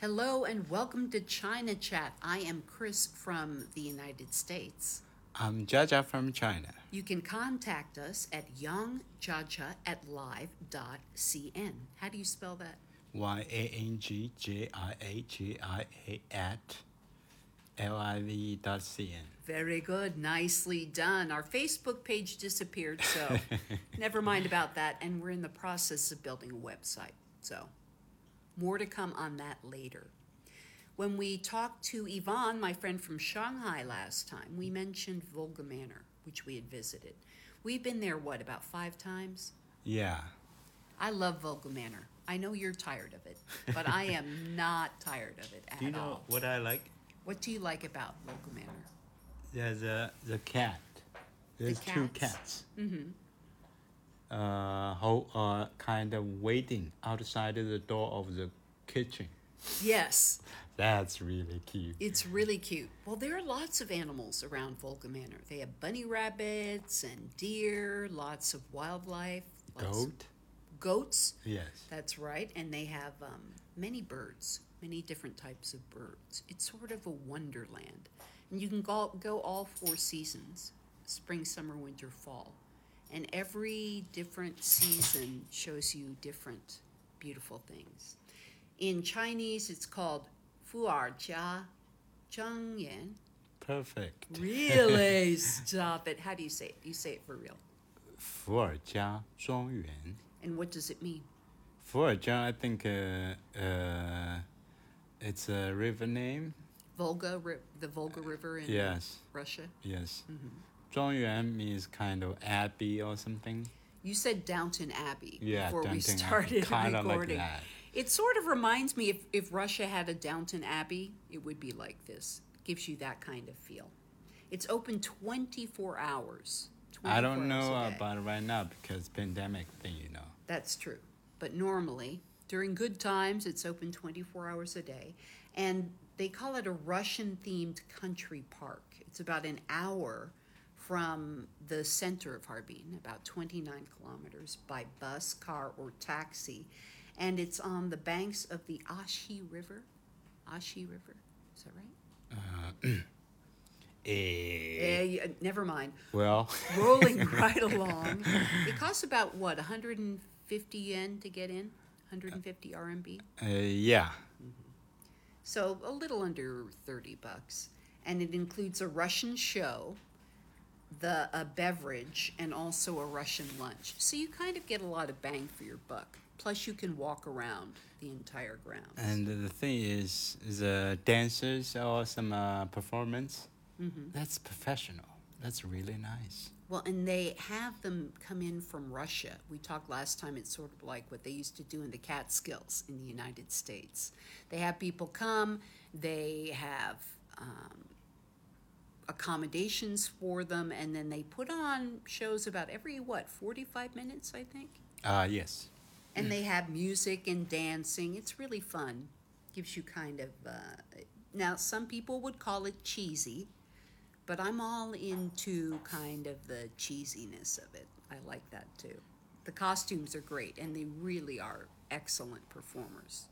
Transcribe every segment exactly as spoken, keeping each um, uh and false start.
Hello and welcome to China Chat. I am Chris from the United States. I'm Jaja from China. You can contact us at yangjaja at live dot c n. How do you spell that? Y A N G J I A J I A at L I V dot C N. Very good. Nicely done. Our Facebook page disappeared, so never mind about that. And we're in the process of building a website. So more to come on that later. When we talked to Yvonne, my friend from Shanghai last time, we mentioned Volga Manor, which we had visited. We've been there, what, about five times? Yeah. I love Volga Manor. I know you're tired of it, but I am not tired of it at Do you know all. what I like? What do you like about Volga Manor? There's a the cat. There's The two cats? cats. Mm-hmm. Uh, who are kind of waiting outside of the door of the kitchen. Yes, That's really cute. it's really cute. Well, there are lots of animals around Volga Manor. They have bunny rabbits and deer, lots of wildlife. Lots Goat? Goats. Yes. That's right. And they have um, many birds, many different types of birds. It's sort of a wonderland. And you can go, go all four seasons, spring, summer, winter, fall. And every different season shows you different beautiful things. In Chinese, it's called Fu Er Jia Zheng Yan. Perfect. Really? Stop it. How do you say it? You say it for real. 伏尔加庄园. And what does it mean? 伏尔加, I think uh, uh, it's a river name. Volga, ri- the Volga River in Yes. Russia. Yes. Mm-hmm. 庄园 means kind of abbey or something. You said Downton Abbey Yeah, before we Downton Abbey. started Kind of like recording. that. It sort of reminds me if, if Russia had a Downton Abbey, it would be like this. Gives you that kind of feel. It's open twenty-four hours. I don't twenty-four hours know a day. about it right now because pandemic thing, you know. That's true. But normally, during good times, it's open twenty-four hours a day. And they call it a Russian-themed country park. It's about an hour from the center of Harbin, about twenty-nine kilometers by bus, car, or taxi. And it's on the banks of the Ashi River. Ashi River, is that right? Eh, Eh, yeah, never mind. well, Rolling right along. It costs about, what, one hundred fifty yen to get in? one hundred fifty R M B? uh, yeah. So a little under thirty bucks. And it includes a Russian show, the a beverage, and also a Russian lunch. So you kind of get a lot of bang for your buck. Plus you can walk around the entire grounds. And the thing is, is uh, dancers or some uh, performance. Mm-hmm. That's professional. That's really nice. Well, and they have them come in from Russia. We talked last time, it's sort of like what they used to do in the Catskills in the United States. They have people come, they have um, accommodations for them, and then they put on shows about every, what, forty-five minutes, I think? Uh, yes. And they have music and dancing. It's really fun. Gives you kind of, uh, now some people would call it cheesy, but I'm all into kind of the cheesiness of it. I like that too. The costumes are great, and they really are excellent performers.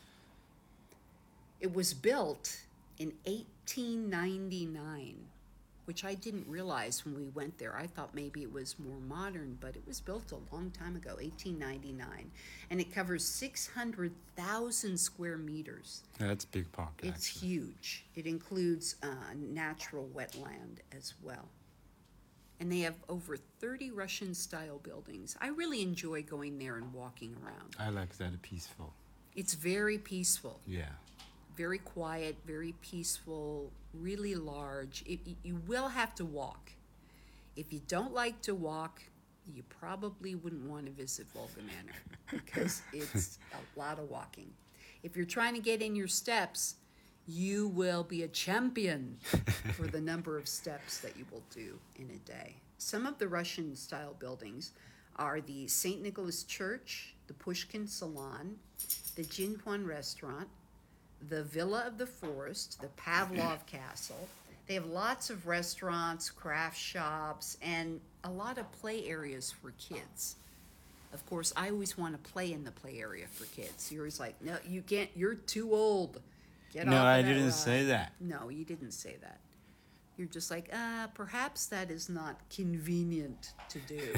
It was built in eighteen ninety-nine, which I didn't realize when we went there. I thought maybe it was more modern, but it was built a long time ago, eighteen ninety-nine. And it covers six hundred thousand square meters. That's big park. It's actually. huge. It includes uh, natural wetland as well. And they have over thirty Russian-style buildings. I really enjoy going there and walking around. I like that peaceful. It's very peaceful, Yeah. very quiet, very peaceful, really large. It, you will have to walk. If you don't like to walk, you probably wouldn't want to visit Volga Manor because it's a lot of walking. If you're trying to get in your steps, you will be a champion for the number of steps that you will do in a day. Some of the Russian-style buildings are the Saint Nicholas Church, the Pushkin Salon, the Jinhuan Restaurant, the Villa of the Forest, the Pavlov Castle. They have lots of restaurants, craft shops, and a lot of play areas for kids. Of course, I always want to play in the play area for kids. You're always like, no, you can't. You're too old. Get No, off of I that didn't ride." say that. No, you didn't say that. You're just like, uh, perhaps that is not convenient to do.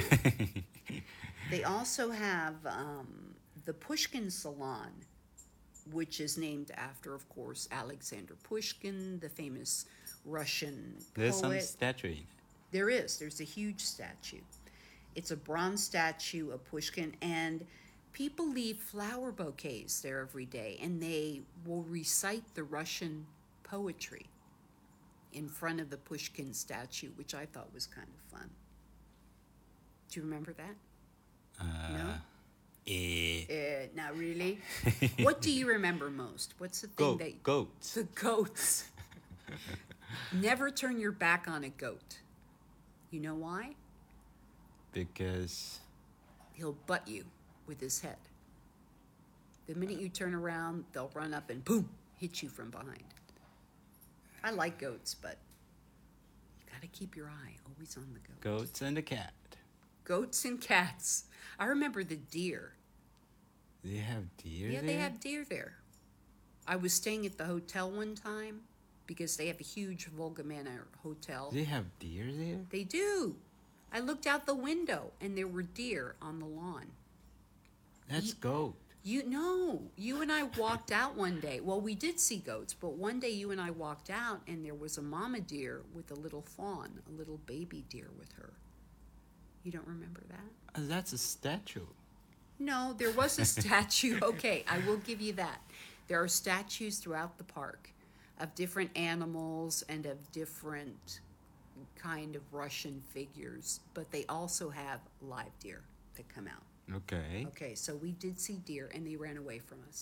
They also have um, the Pushkin Salon, which is named after, of course, Alexander Pushkin, the famous Russian There's some poet. statue in it. There is. There's a huge statue. It's a bronze statue of Pushkin, and people leave flower bouquets there every day, and they will recite the Russian poetry in front of the Pushkin statue, which I thought was kind of fun. Do you remember that? Uh, No? Eh. Uh, not really. What do you remember most? What's the thing Goat, that... goats. The goats. Never turn your back on a goat. You know why? Because He'll butt you with his head. The minute you turn around, they'll run up and boom, hit you from behind. I like goats, but you gotta keep your eye always on the goat. goats and a cat. Goats and cats. I remember the deer. They have deer Yeah, there? they have deer there. I was staying at the hotel one time because they have a huge Volga Manor hotel. They have deer there? They do. I looked out the window and there were deer on the lawn. That's Ye- goat. You know, you and I walked out one day. Well, we did see goats, but one day you and I walked out and there was a mama deer with a little fawn, a little baby deer with her. You don't remember that? Uh, That's a statue. No, there was a statue. Okay, I will give you that. There are statues throughout the park of different animals and of different kind of Russian figures, but they also have live deer that come out. Okay. Okay, so we did see deer and they ran away from us.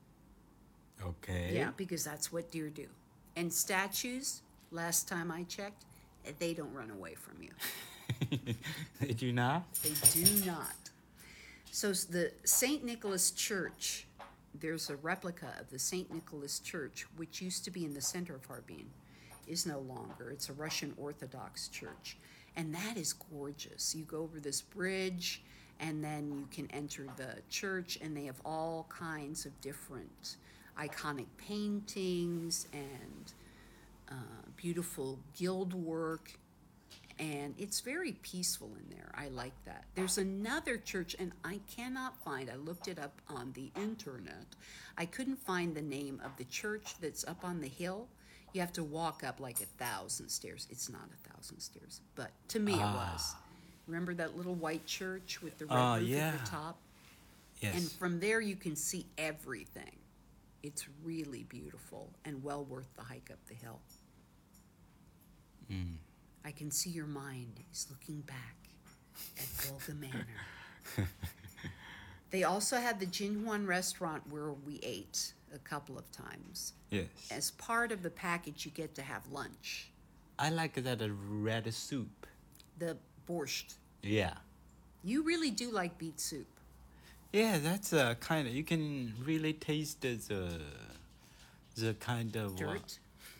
Okay. Yeah, because that's what deer do. And statues, last time I checked, they don't run away from you. They do not? They do not. So s- the Saint Nicholas Church, there's a replica of the Saint Nicholas Church, which used to be in the center of Harbin, is no longer. It's a Russian Orthodox church. And that is gorgeous. You go over this bridge, and then you can enter the church, and they have all kinds of different iconic paintings and uh, beautiful gild work. And it's very peaceful in there. I like that. There's another church, and I cannot find, I looked it up on the internet. I couldn't find the name of the church that's up on the hill. You have to walk up like a thousand stairs. It's not a thousand stairs, but to me it was. Remember that little white church with the red Oh, roof yeah. at the top? Yes. And from there you can see everything. It's really beautiful and well worth the hike up the hill. Mm. I can see your mind is looking back at Volga Manor. They also had the Jinhuan restaurant where we ate a couple of times. Yes. As part of the package, you get to have lunch. I like that uh, red soup. The borscht. Yeah. You really do like beet soup. Yeah, that's a kind of, you can really taste the, the kind of... uh, Dirt.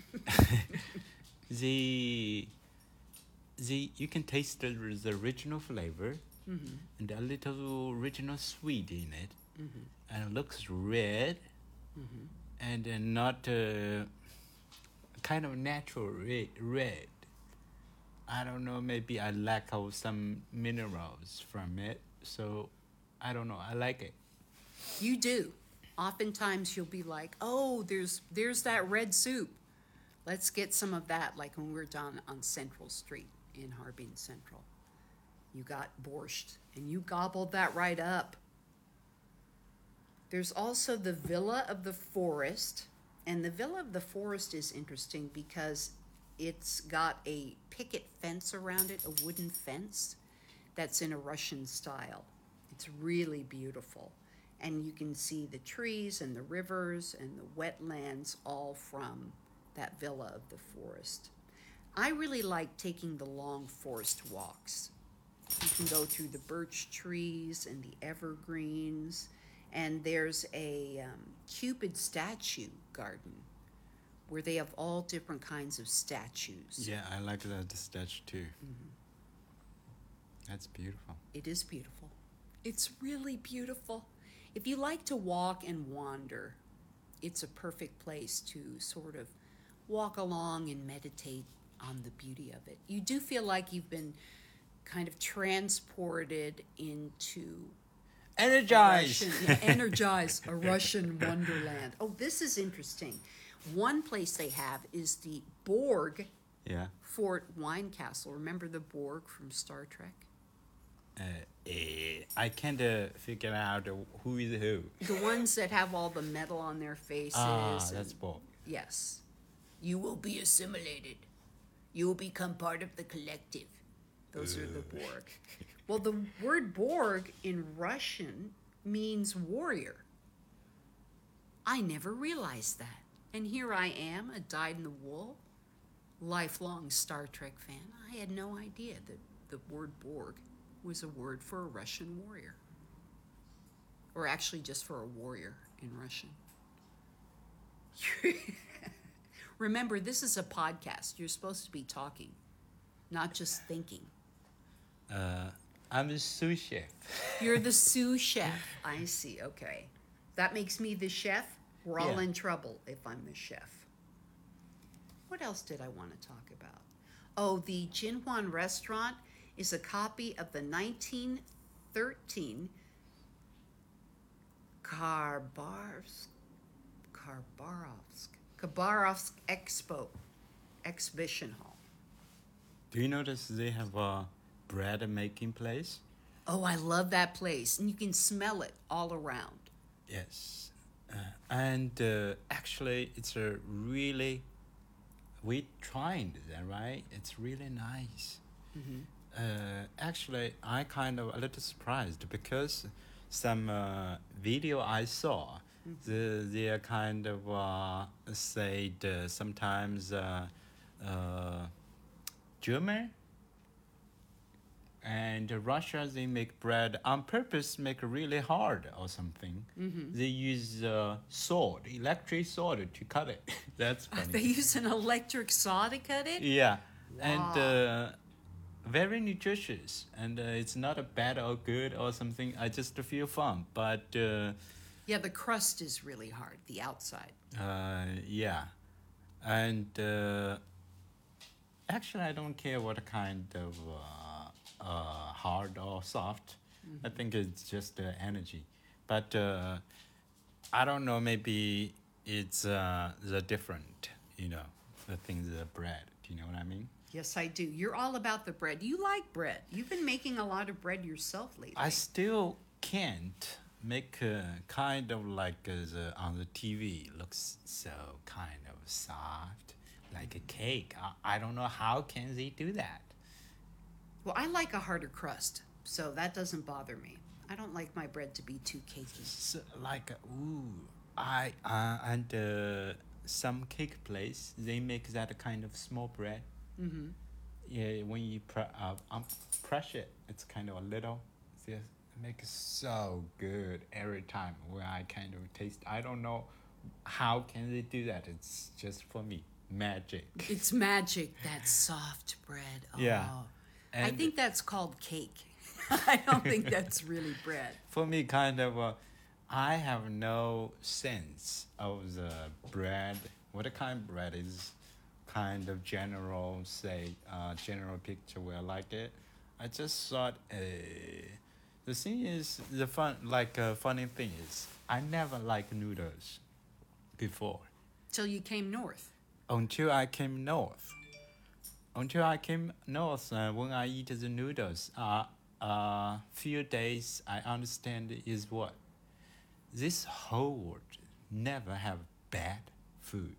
the the you can taste the, the original flavor Mm-hmm. and a little original sweet in it, Mm-hmm. and it looks red Mm-hmm. and uh, not uh, kind of natural red, red. I don't know, maybe I lack of some minerals from it, so I don't know, I like it. You do. Oftentimes you'll be like, oh, there's there's that red soup. Let's get some of that, like when we were down on Central Street in Harbin Central. You got borscht, and you gobbled that right up. There's also the Villa of the Forest, and the Villa of the Forest is interesting because it's got a picket fence around it, a wooden fence that's in a Russian style. It's really beautiful. And you can see the trees and the rivers and the wetlands all from that Villa of the Forest. I really like taking the long forest walks. You can go through the birch trees and the evergreens, and there's a um, Cupid statue garden where they have all different kinds of statues. Yeah, I like that the statue too. That's beautiful. It is beautiful. It's really beautiful. If you like to walk and wander, it's a perfect place to sort of walk along and meditate on the beauty of it. You do feel like you've been kind of transported into Energize. Russian, yeah, energize a Russian wonderland. Oh, this is interesting. One place they have is the Borg Yeah. Fort Wine Castle. Remember the Borg from Star Trek? Uh, eh, I can't uh, figure out uh, who is who. The ones that have all the metal on their faces. Ah, and- that's Borg. Yes. You will be assimilated. You will become part of the collective. Those are the Borg. Well, the word Borg in Russian means warrior. I never realized that. And here I am, a dyed-in-the-wool, lifelong Star Trek fan. I had no idea that the word Borg was a word for a Russian warrior. Or actually just for a warrior in Russian. Remember, this is a podcast. You're supposed to be talking, not just thinking. Uh, I'm a sous chef. You're the sous chef. I see. Okay. That makes me the chef. We're all Yeah. in trouble if I'm the chef. What else did I want to talk about? Oh, the Jinhuan restaurant is a copy of the nineteen thirteen Khabarovsk, Khabarovsk, Khabarovsk Expo exhibition hall. Do you notice they have a bread making place? Oh, I love that place. And you can smell it all around. Yes. Uh, and uh, actually, it's a really, we tried that, right? It's really nice. Mm-hmm. Uh, actually, I kind of a little surprised because some uh, video I saw, the they are kind of uh, said uh, sometimes uh, uh, German and Russia they make bread on purpose, make it really hard or something. Mm-hmm. They use uh, sword, electric sword to cut it. That's funny. They use an electric saw to cut it? Yeah, and Wow. uh, very nutritious, and uh, it's not a bad or good or something. I just feel fun, but uh, Yeah, the crust is really hard, the outside. uh, yeah, and uh, actually, I don't care what kind of uh, uh, hard or soft. I think it's just uh, energy, but uh, I don't know. Maybe it's uh, the different, you know, the things the bread. Do you know what I mean? Yes, I do. You're all about the bread. You like bread. You've been making a lot of bread yourself lately. I still can't make uh, kind of like uh, the, on the T V looks so kind of soft, like a cake. I, I don't know how can they do that. Well, I like a harder crust, so that doesn't bother me. I don't like my bread to be too cakey. So, like uh, ooh, I uh, and uh, some cake place they make that kind of small bread. Mm-hmm. Yeah, when you pre- uh, um, press it, it's kind of a little. It makes it so good every time when I kind of taste. I don't know how can they do that. It's just for me magic. It's magic, that soft bread. Oh. Yeah. I And think that's called cake. I don't think that's really bread. for me, kind of, uh, I have no sense of the bread. What kind of bread is kind of general, say, uh, general picture where I like it. I just thought, uh, the thing is, the fun, like, uh, funny thing is, I never liked noodles before Till you came north. until I came north. Until I came north, uh, when I eat the noodles, uh, uh, few days I understand is what this whole world never have bad food.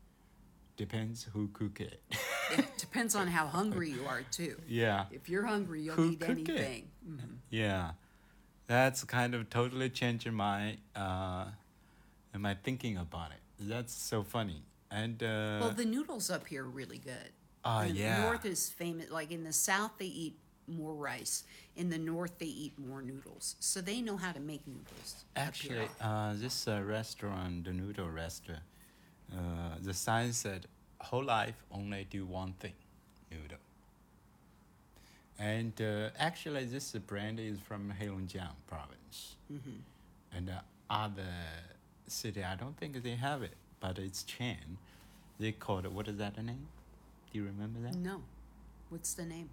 Depends who cook it. It depends on how hungry you are, too. Yeah, If you're hungry, you'll Who eat cook it? anything. Mhm. yeah, that's kind of totally changing my uh, my thinking about it. That's so funny. And uh, Well, the noodles up here are really good. ah The yeah, north is famous. Like in the south, they eat more rice. In the north, they eat more noodles. So they know how to make noodles. up actually, here. uh, this uh, restaurant, the noodle restaurant, uh, the sign said, "Whole life only do one thing, noodle." And uh, actually, this brand is from Heilongjiang province. Mm-hmm. And the other city, I don't think they have it, but it's chain. They call it, what is that name? Do you remember that? No. What's the name?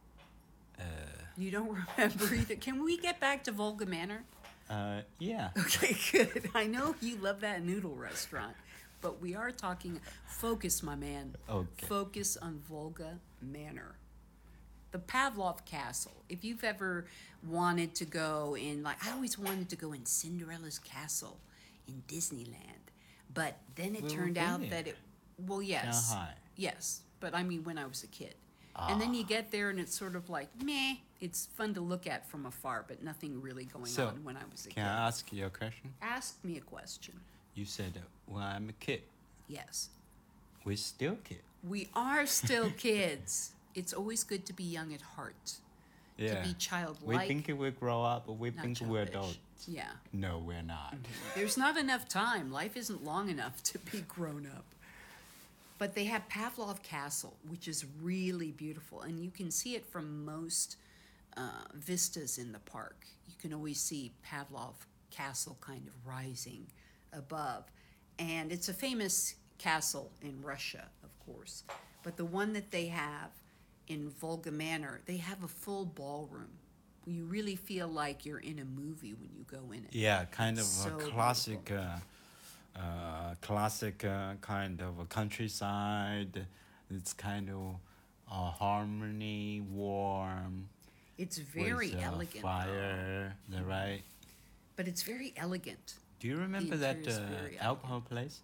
Uh, You don't remember either. Can we get back to Volga Manor? uh, yeah. Okay, good. I know you love that noodle restaurant, but we are talking. Focus, my man. Okay. Focus on Volga Manor. The Pavlov Castle. If you've ever wanted to go in, like, I always wanted to go in Cinderella's castle in Disneyland, but then it We were turned out there. that it, well, yes. Shanghai. Yes, but I mean when I was a kid. And then you get there and it's sort of like, meh, it's fun to look at from afar, but nothing really going So, on when I was a Can kid. I ask you a question? Ask me a question. You said, uh, when I'm a kid, Yes. we're still kid. We are still kids. It's always good to be young at heart, Yeah. to be We childlike, think we grow up, but we not think we're childish. adults. Yeah. No, we're not. There's not enough time. Life isn't long enough to be grown up. But they have Pavlov Castle, which is really beautiful, and you can see it from most uh, vistas in the park. You can always see Pavlov Castle kind of rising above. And it's a famous castle in Russia, of course. But the one that they have in Volga Manor, they have a full ballroom. You really feel like you're in a movie when you go in it. Yeah, kind of So a classic, uh, uh, classic uh, kind of a countryside. It's kind of uh, harmony, warm. It's very with, uh, elegant, though. Fire, the right. But it's very elegant. Do you remember that interior's uh, very alcohol place?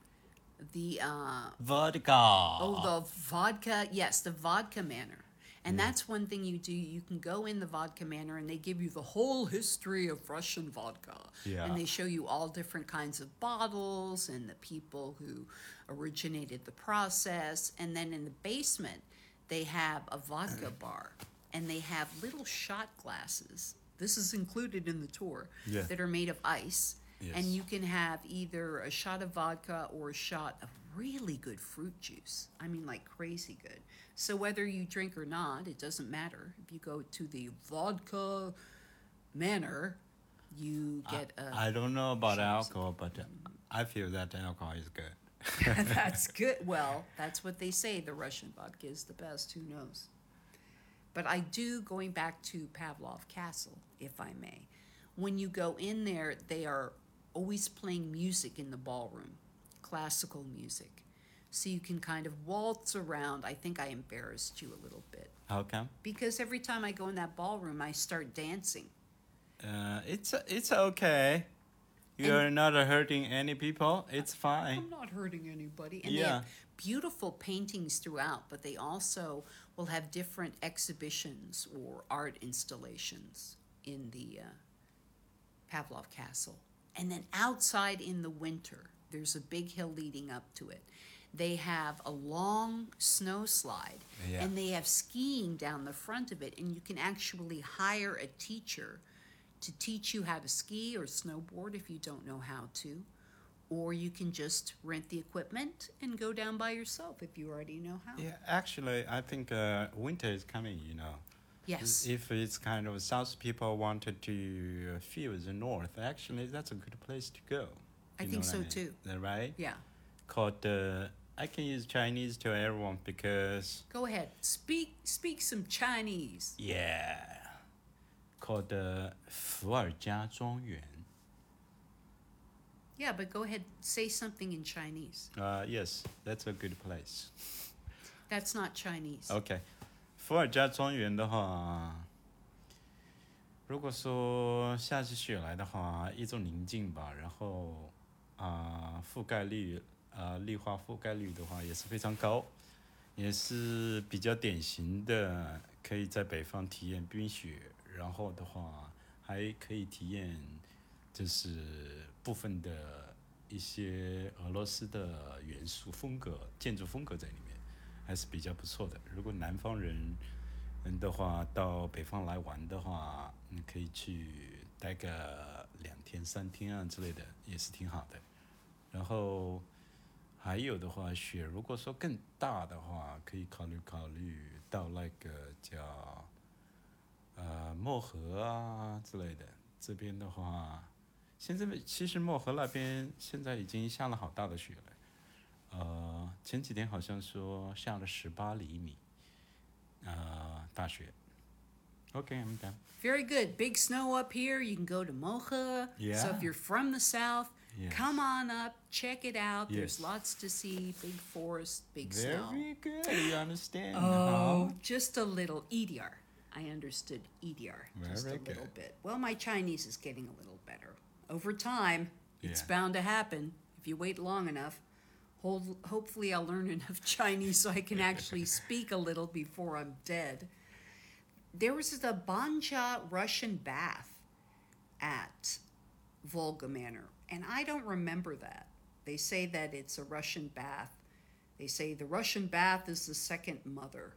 The uh, Vodka. oh, the vodka. Yes, the vodka manor. And that's one thing you do. You can go in the vodka manor and they give you the whole history of Russian vodka. Yeah. And they show you all different kinds of bottles and the people who originated the process. And then in the basement, they have a vodka bar and they have little shot glasses. This is included in the tour Yeah. that are made of ice. Yes. And you can have either a shot of vodka or a shot of really good fruit juice. I mean, like crazy good. So whether you drink or not, it doesn't matter. If you go to the vodka manor, you get a. I don't know about Shots. alcohol, but uh, I feel that alcohol is good. That's good. Well, that's what they say. The Russian vodka is the best. Who knows? But I do, going back to Pavlov Castle, if I may. When you go in there, they are always playing music in the ballroom, classical music. So you can kind of waltz around. I think I embarrassed you a little bit. How come? Because every time I go in that ballroom, I start dancing. Uh, it's it's okay. You're not hurting any people. It's fine. I'm not hurting anybody. And they Yeah. have beautiful paintings throughout, but they also will have different exhibitions or art installations in the uh, Pavlov Castle. And then outside in the winter, there's a big hill leading up to it. They have a long snow slide, Yeah. and they have skiing down the front of it, and you can actually hire a teacher to teach you how to ski or snowboard if you don't know how to. Or you can just rent the equipment and go down by yourself if you already know how. Yeah, actually, I think uh, winter is coming. You know, Yes. if it's kind of south people wanted to uh, feel the north, actually, that's a good place to go. I You think know what so, mean? too. Is that right? Yeah. Called uh, I can use Chinese to everyone because Go ahead. Speak speak some Chinese. yeah, called uh, 伏尔加庄园. Yeah, but go ahead. Say something in Chinese. Uh, yes, that's a good place. That's not Chinese. OK，伏尔加庄园的话，如果说下起雪来的话，一种宁静吧，然后啊、覆盖率啊、绿化覆盖率的话也是非常高，也是比较典型的，可以在北方体验冰雪，然后的话还可以体验就是部分的一些俄罗斯的元素风格、建筑风格在里面。还是比较不错的。如果南方人人的话，到北方来玩的话，你可以去待个两天、三天啊之类的，也是挺好的。然后还有的话，雪如果说更大的话，可以考虑考虑到那个叫呃漠河啊之类的。这边的话，现在其实漠河那边现在已经下了好大的雪了。呃，前几天好像说下了十八厘米，呃，大雪。Okay, I'm done. Very good. Big snow up here. You can go to Mocha. So Yeah. if you're from the south, Yes. come on up, check it out. There's Yes. lots to see. Big forest, big snow. Very good. You understand? Oh, huh? just a little. E D R. I understood E D R just a Very little good. bit. Well, my Chinese is getting a little better. Over time, it's Yeah. bound to happen if you wait long enough. Hold, hopefully, I'll learn enough Chinese so I can actually speak a little before I'm dead. There was the Banja Russian bath at Volga Manor, and I don't remember that. They say that it's a Russian bath. They say the Russian bath is the second mother.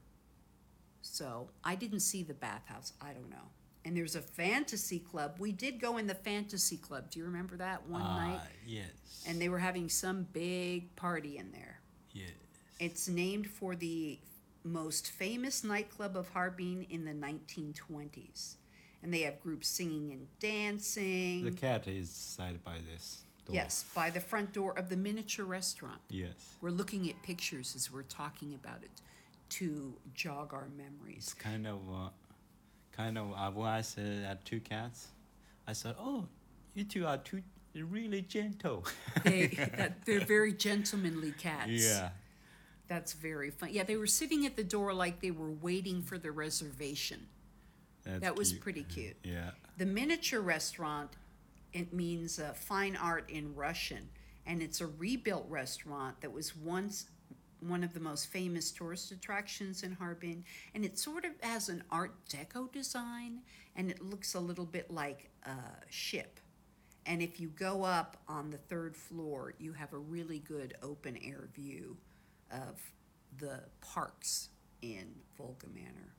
So I didn't see the bathhouse. I don't know. And there's a fantasy club. We did go in the fantasy club. Do you remember that one Ah, night? yes. And they were having some big party in there. Yes. It's named for the most famous nightclub of Harbin in the nineteen twenties. And they have groups singing and dancing. The cat is side by this door. Yes, by the front door of the miniature restaurant. Yes. We're looking at pictures as we're talking about it to jog our memories. It's kind of, uh, kind of. Uh, when I said I had two cats, I said, "Oh, you two are two really gentle." They, that, they're very gentlemanly cats. Yeah. That's very fun. Yeah, they were sitting at the door like they were waiting for the reservation. That's That was cute. pretty cute. Yeah. The miniature restaurant, it means uh, fine art in Russian, and it's a rebuilt restaurant that was once one of the most famous tourist attractions in Harbin, and it sort of has an Art Deco design, and it looks a little bit like a ship. And if you go up on the third floor, you have a really good open air view of the parks in Volga Manor.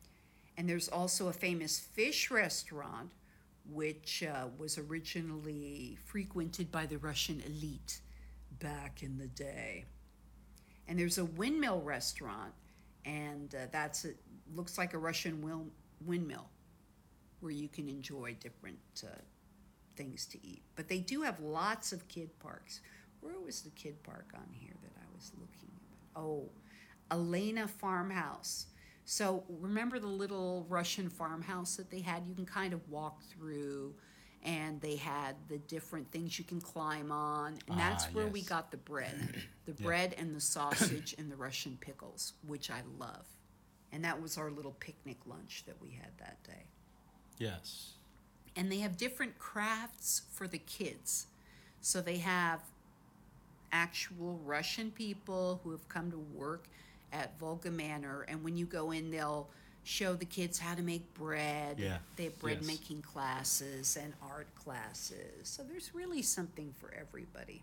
And there's also a famous fish restaurant, which uh, was originally frequented by the Russian elite back in the day. And there's a windmill restaurant, and uh, that's a, looks like a Russian wil- windmill, where you can enjoy different uh, things to eat. But they do have lots of kid parks. Where was the kid park on here that I was looking at? Oh, Elena Farmhouse. So remember the little Russian farmhouse that they had? You can kind of walk through, and they had the different things you can climb on. And that's Ah, where we yes. got the bread. The Yeah. bread and the sausage and the Russian pickles, which I love. And that was our little picnic lunch that we had that day. Yes. And they have different crafts for the kids. So they have actual Russian people who have come to work at Volga Manor, and when you go in, they'll show the kids how to make bread. Yeah. They have bread Yes. making classes and art classes. So there's really something for everybody.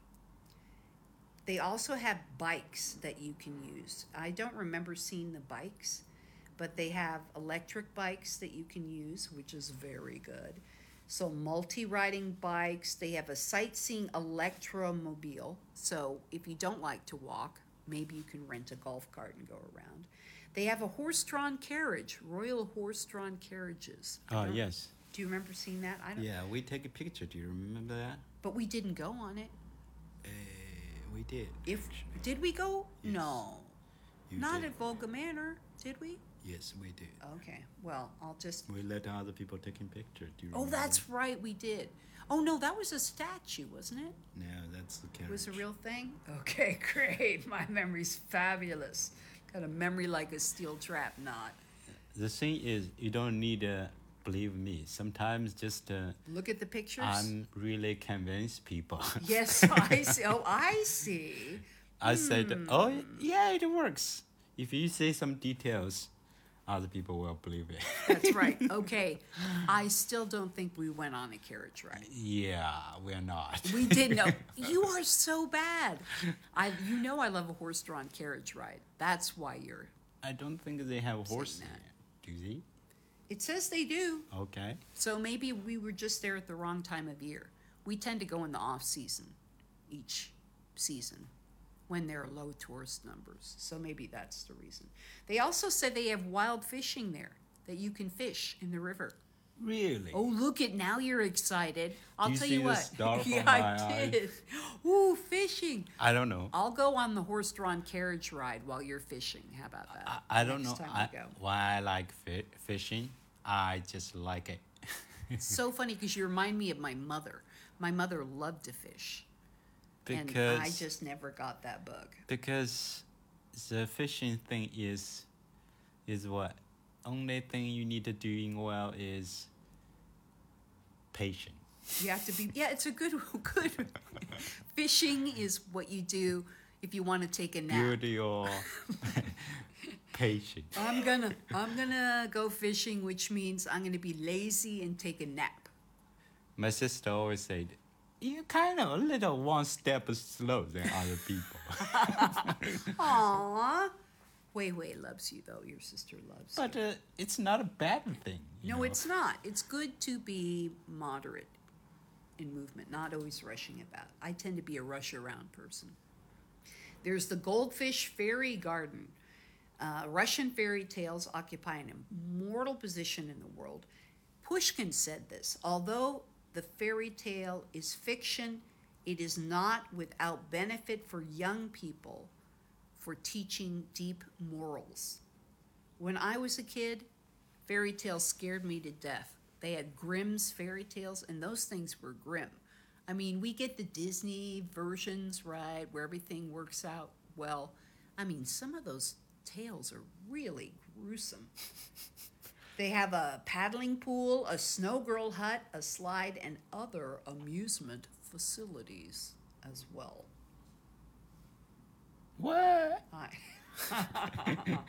They also have bikes that you can use. I don't remember seeing the bikes, but they have electric bikes that you can use, which is very good. So multi-riding bikes. They have a sightseeing electromobile. So if you don't like to walk, maybe you can rent a golf cart and go around. They have a horse-drawn carriage, royal horse-drawn carriages. I Oh, don't- yes. Do you remember seeing that? I don't. Yeah, we take a picture. Do you remember that? But we didn't go on it. Uh, we did. If actually. did we go? Yes. No, You not did. at Volga Manor. Did we? Yes, we did. Okay. Well, I'll just. We let other people taking picture. Do you Oh, remember? that's right. We did. Oh no, that was a statue, wasn't it? No, that's the carriage. It was a real thing? Okay, great. My memory's fabulous. Got a memory like a steel trap knot. The thing is, you don't need to believe me. Sometimes just uh, Look at the pictures. I'm really convince people. Yes, I see. Oh, I see. I said, Hmm. oh yeah, it works. If you say some details, other people will believe it. That's right. Okay. I still don't think we went on a carriage ride. Yeah, we're not. We did know. You are so bad. I, you know, I love a horse-drawn carriage ride. That's why you're. I don't think they have horses. that. Do they? It says they do. Okay. So maybe we were just there at the wrong time of year. We tend to go in the off season, each season, when there are low tourist numbers. So maybe that's the reason. They also said they have wild fishing there. that you can fish in the river. Really? Oh, look at now you're excited. I'll Do you tell see you the what. star from yeah, my I eye? did. Ooh, fishing. I don't know. I'll go on the horse-drawn carriage ride while you're fishing. How about that? I, I don't Next know time I, we go. why I like fi- fishing. I just like it. It's so funny because you remind me of my mother. My mother loved to fish. because and I just never got that bug. because the fishing thing is is what only thing you need to doing well is patient. You have to be, yeah, it's a good, good. Fishing is what you do if you want to take a nap. Build your patience. I'm gonna, I'm gonna go fishing, which means I'm gonna be lazy and take a nap. My sister always said, "You're kind of a little one step slow than other people." Aww. Wei Wei loves you though. Your sister loves But you. uh, it's not a bad thing. you No, know. it's not. It's good to be moderate in movement, not always rushing about. I tend to be a rush around person. There's the Goldfish Fairy Garden. Uh, Russian fairy tales occupy an immortal position in the world. Pushkin said this: although the fairy tale is fiction, it is not without benefit for young people for teaching deep morals. When I was a kid, fairy tales scared me to death. They had Grimm's fairy tales, and those things were grim. I mean, we get the Disney versions, right, where everything works out well. I mean, some of those tales are really gruesome. They have a paddling pool, a snow girl hut, a slide, and other amusement facilities as well. What? Hi.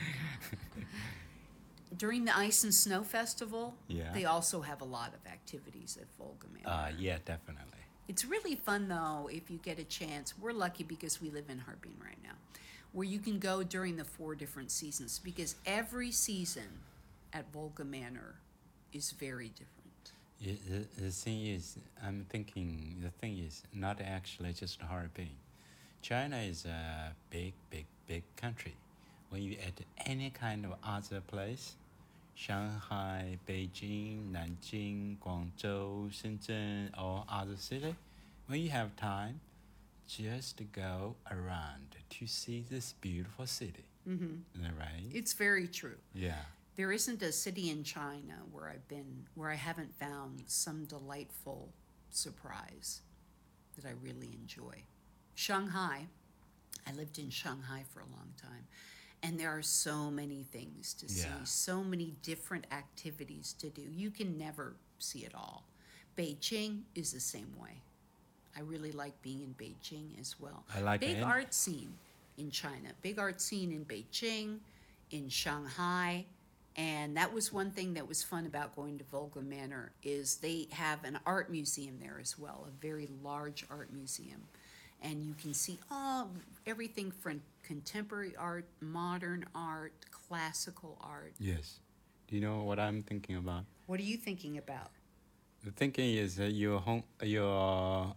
During the Ice and Snow Festival, Yeah. they also have a lot of activities at Volga Manor. Uh, yeah, definitely. It's really fun, though, if you get a chance. We're lucky because we live in Harbin right now, where you can go during the four different seasons, because every season at Volga Manor is very different. Yeah, the, the thing is, I'm thinking, the thing is not actually just Harbin. China is a big, big, big country. When you at any kind of other place, Shanghai, Beijing, Nanjing, Guangzhou, Shenzhen, or other city, when you have time, just go around to see this beautiful city. Mm-hmm. Is that right? It's very true. Yeah. There isn't a city in China where I've been where I haven't found some delightful surprise that I really enjoy. Shanghai, I lived in Shanghai for a long time, and there are so many things to see, Yeah. so many different activities to do. You can never see it all. Beijing is the same way. I really like being in Beijing as well. I like Big it. art scene in China, big art scene in Beijing, in Shanghai. And that was one thing that was fun about going to Volga Manor is they have an art museum there as well, a very large art museum. And you can see all everything from contemporary art, modern art, classical art. Yes. Do you know what I'm thinking about? What are you thinking about? The thinking is that you're home, you're,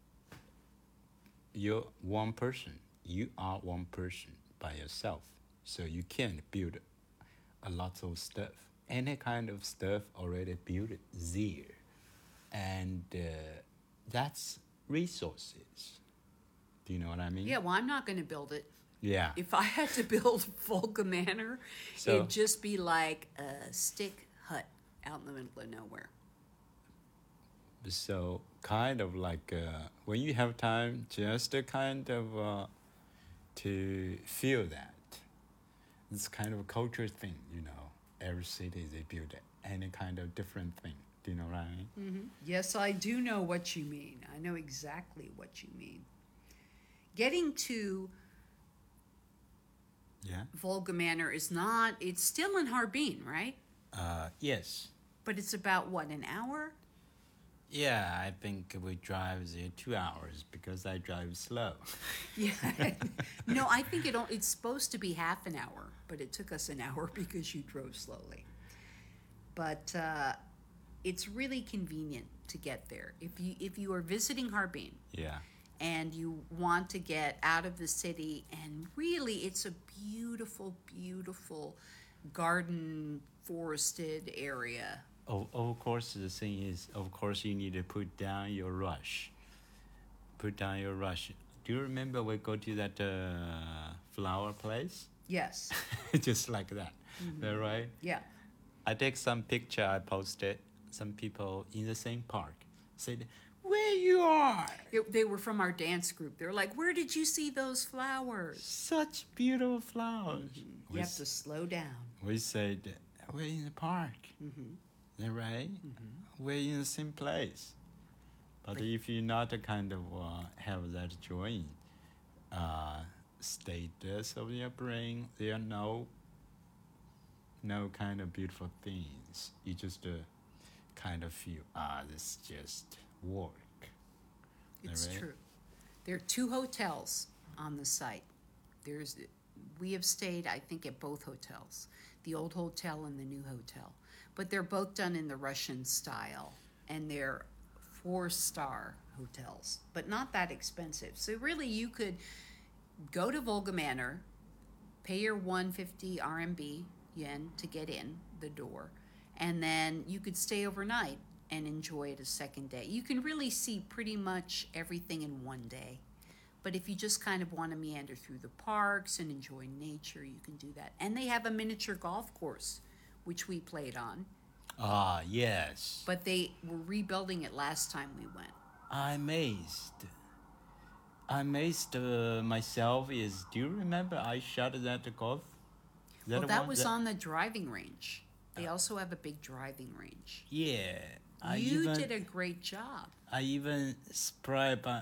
you're one person. You are one person by yourself. So you can't build a lot of stuff. Any kind of stuff already built there. And uh, that's resources. Do you know what I mean? Yeah, well, I'm not going to build it. Yeah. If I had to build Volga Manor, So- it'd just be like a stick hut out in the middle of nowhere. So kind of like uh, when you have time, just a kind of uh, to feel that. It's kind of a culture thing, you know. Every city they build any kind of different thing. Do you know what I mean? Mm-hmm. Yes, I do know what you mean. I know exactly what you mean. Getting to Yeah. Volga Manor is not, it's still in Harbin, right? Uh, yes. But it's about, what, an hour? Yeah, I think we drive there two hours because I drive slow. Yeah. No, I think it, o- it's supposed to be half an hour, but it took us an hour because you drove slowly. But uh, it's really convenient to get there. If you if you are visiting Harbin Yeah. and you want to get out of the city, and really it's a beautiful, beautiful garden forested area. Of, of course, the thing is, of course, you need to put down your rush. Put down your rush. Do you remember we go to that uh, flower place? Yes. Just like that. Mm-hmm. That right? Yeah. I take some picture I posted. Some people in the same park said, "Where you are? It, they were from our dance group. They're like, "Where did you see those flowers?" Such beautiful flowers." You We, have to slow down. we said, "We're in the park." Mm-hmm. That right? Mm-hmm. We're in the same place. But But- if you not kind of uh, have that joint uh, status of your brain, there are no no kind of beautiful things. You just uh, kind of feel, ah, this just work. It's Right? true. There are two hotels on the site. There's, we have stayed, I think, at both hotels, the old hotel and the new hotel. But they're both done in the Russian style, and they're four-star hotels, but not that expensive. So really, you could go to Volga Manor, pay your one hundred fifty R M B yen to get in the door, and then you could stay overnight and enjoy it a second day. You can really see pretty much everything in one day. But if you just kind of want to meander through the parks and enjoy nature, you can do that. And they have a miniature golf course, which we played on, Ah, yes. but they were rebuilding it last time we went. I'm amazed. I'm amazed uh, myself is, do you remember I shot that golf? Is Well, the that one was on the driving range. They also have a big driving range. Yeah. I You even, did a great job. I even spray by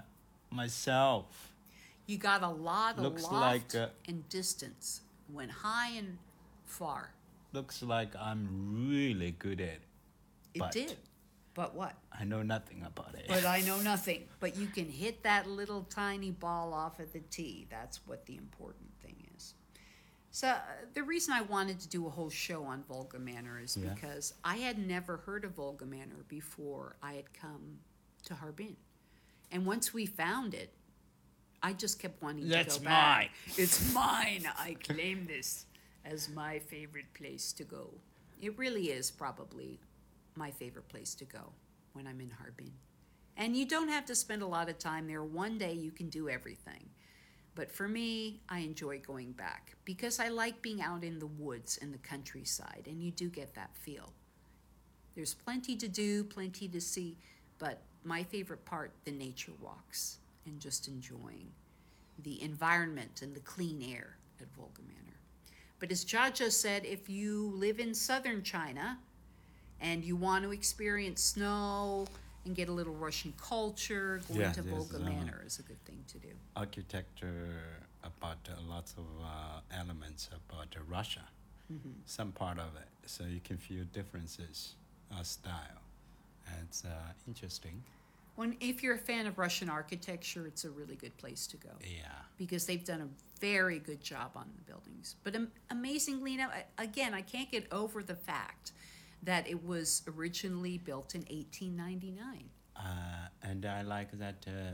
myself. You got a lot of Looks loft like, uh, and distance. Went high and far. Looks like I'm really good at it. It But- did. But what? I know nothing about it. But I know nothing. But you can hit that little tiny ball off at the tee. That's what the important thing is. So uh, the reason I wanted to do a whole show on Volga Manor is Yeah. because I had never heard of Volga Manor before I had come to Harbin. And once we found it, I just kept wanting That's to go back. mine. It's mine. I claim this as my favorite place to go. It really is probably my favorite place to go when I'm in Harbin. And you don't have to spend a lot of time there. One day you can do everything. But for me, I enjoy going back because I like being out in the woods and the countryside, and you do get that feel. There's plenty to do, plenty to see, but my favorite part, the nature walks and just enjoying the environment and the clean air at Volga Manor. But as Jaja said, if you live in southern China and you want to experience snow and get a little Russian culture, going Yeah, to there's, Volga uh, Manor is a good thing to do. Architecture about uh, lots of uh, elements about uh, Russia. Some part of it, so you can feel differences of style. And it's uh, interesting. When, if you're a fan of Russian architecture, it's a really good place to go Yeah. because they've done a very good job on the buildings. But am- amazingly, now I- again, I can't get over the fact that it was originally built in eighteen ninety-nine. Uh, and I like that uh,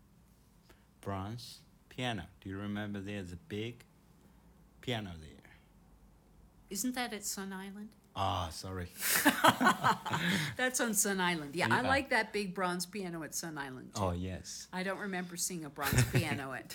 bronze piano. Do you remember there's a big piano there? Isn't that at Sun Island? Ah, sorry. That's on Sun Island. Yeah, I Yeah. like that big bronze piano at Sun Island too. Oh, yes. I don't remember seeing a bronze piano at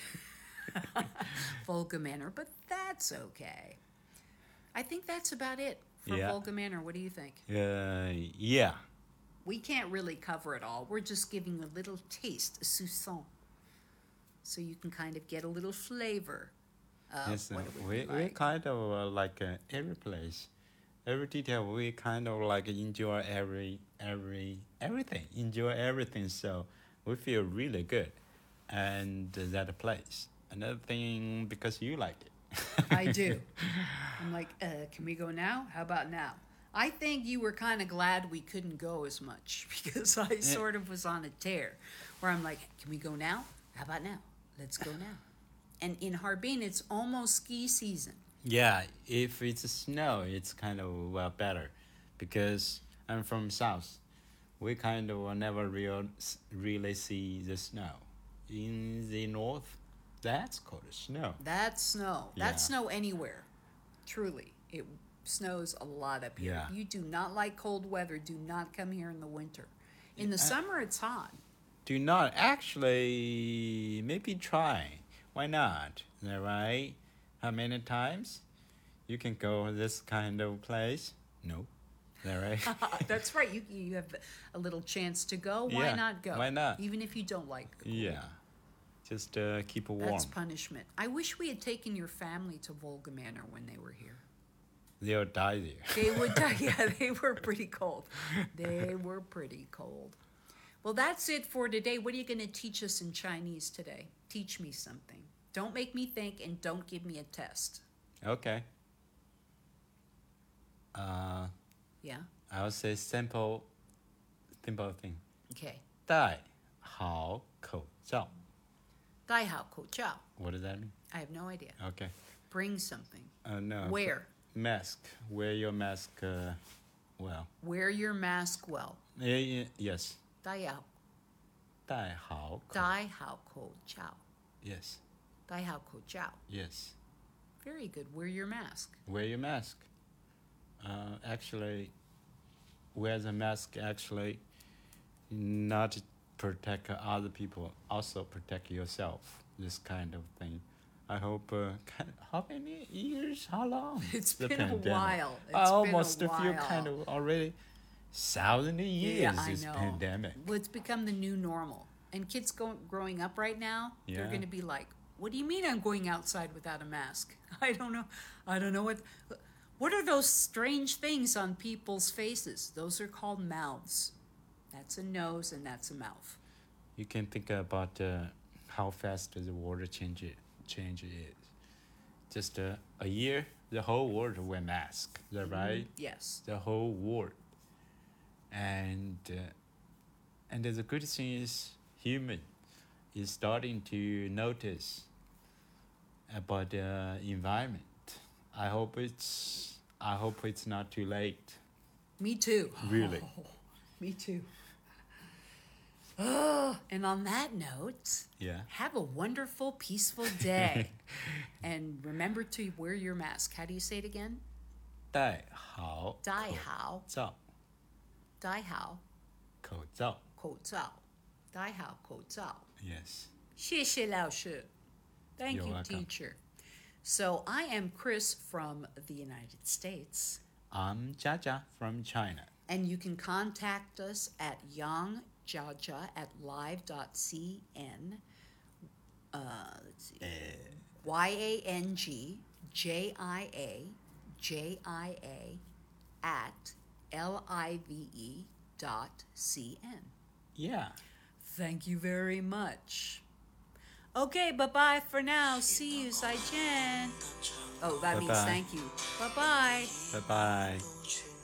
Volga Manor, but that's okay. I think that's about it for Yeah. Volga Manor. What do you think? Uh, yeah. We can't really cover it all. We're just giving a little taste, a soupçon, so you can kind of get a little flavor of Yes, uh, what it would we, be we like. kind of uh, like uh, every place, every detail. We kind of like enjoy every every everything. Enjoy everything. So we feel really good, and that place. Another thing because you like it. I do. I'm like, uh, can we go now? How about now? I think you were kind of glad we couldn't go as much because I sort of was on a tear where I'm like, can we go now? How about now? Let's go now. And in Harbin, it's almost ski season. Yeah, if it's snow, it's kind of well better, because I'm from south. We kind of never real really see the snow. In the north, that's called snow. That's snow. That's Yeah. snow anywhere. Truly. It snows a lot up here. Yeah. If you do not like cold weather, do not come here in the winter. In the Yeah. summer, it's hot. Do not actually maybe try. Why not? Is that right? How many times you can go this kind of place? No. Is that right? That's right. You you have a little chance to go. Why Yeah, not go? why not? Even if you don't like the cold. Yeah. Just uh, keep it warm. That's punishment. I wish we had taken your family to Volga Manor when they were here. They'll die there. They would die. Yeah, they were pretty cold. They were pretty cold. Well, that's it for today. What are you going to teach us in Chinese today? Teach me something. Don't make me think and don't give me a test. Okay. Uh, Yeah? I would say simple, simple thing. Okay. 戴好口罩. 戴好口罩. What does that mean? I have no idea. Okay. Bring something. Uh, no. Wear. Mask. Wear your mask uh, well. Wear your mask well. Yeah, yeah, yes. 戴好戴好口. 戴好口罩. Yes. 戴好口罩. Yes. Very good. Wear your mask. Wear your mask. Uh, actually, wear the mask actually not protect other people, also protect yourself. This kind of thing. I hope. Uh, kind how many years? How long? It's the been a pandemic? while. It's I been a almost feel while. kind of already thousand years. Yeah, I this know. pandemic. Well, it's become the new normal. And kids go, growing up right now, they're Yeah. going to be like, what do you mean I'm going outside without a mask? I don't know. I don't know what... What are those strange things on people's faces? Those are called mouths. That's a nose and that's a mouth. You can think about uh, how fast the water change it, change is. Just uh, a year, the whole world wear mask. Is that right? Yes. The whole world. And uh, and the good thing is human is starting to notice about the environment. I hope it's I hope it's not too late. Me too. Really. Me too. Oh, and on that note, Yeah. have a wonderful, peaceful day. And remember to wear your mask. How do you say it again? 戴好戴好口罩， 戴好口罩。 口罩戴好口罩 Yes. 谢谢老师 Thank You're you, welcome. teacher. So I am Chris from the United States. I'm Jaja from China. And you can contact us at yangjiajia at live.cn. Uh, let's see. Y A N G J I A J I A at L I V E dot C N. Yeah. Thank you very much. Okay, bye-bye for now. See you, Sai Chen. Oh, that means Bye-bye. thank you. Bye-bye. Bye bye.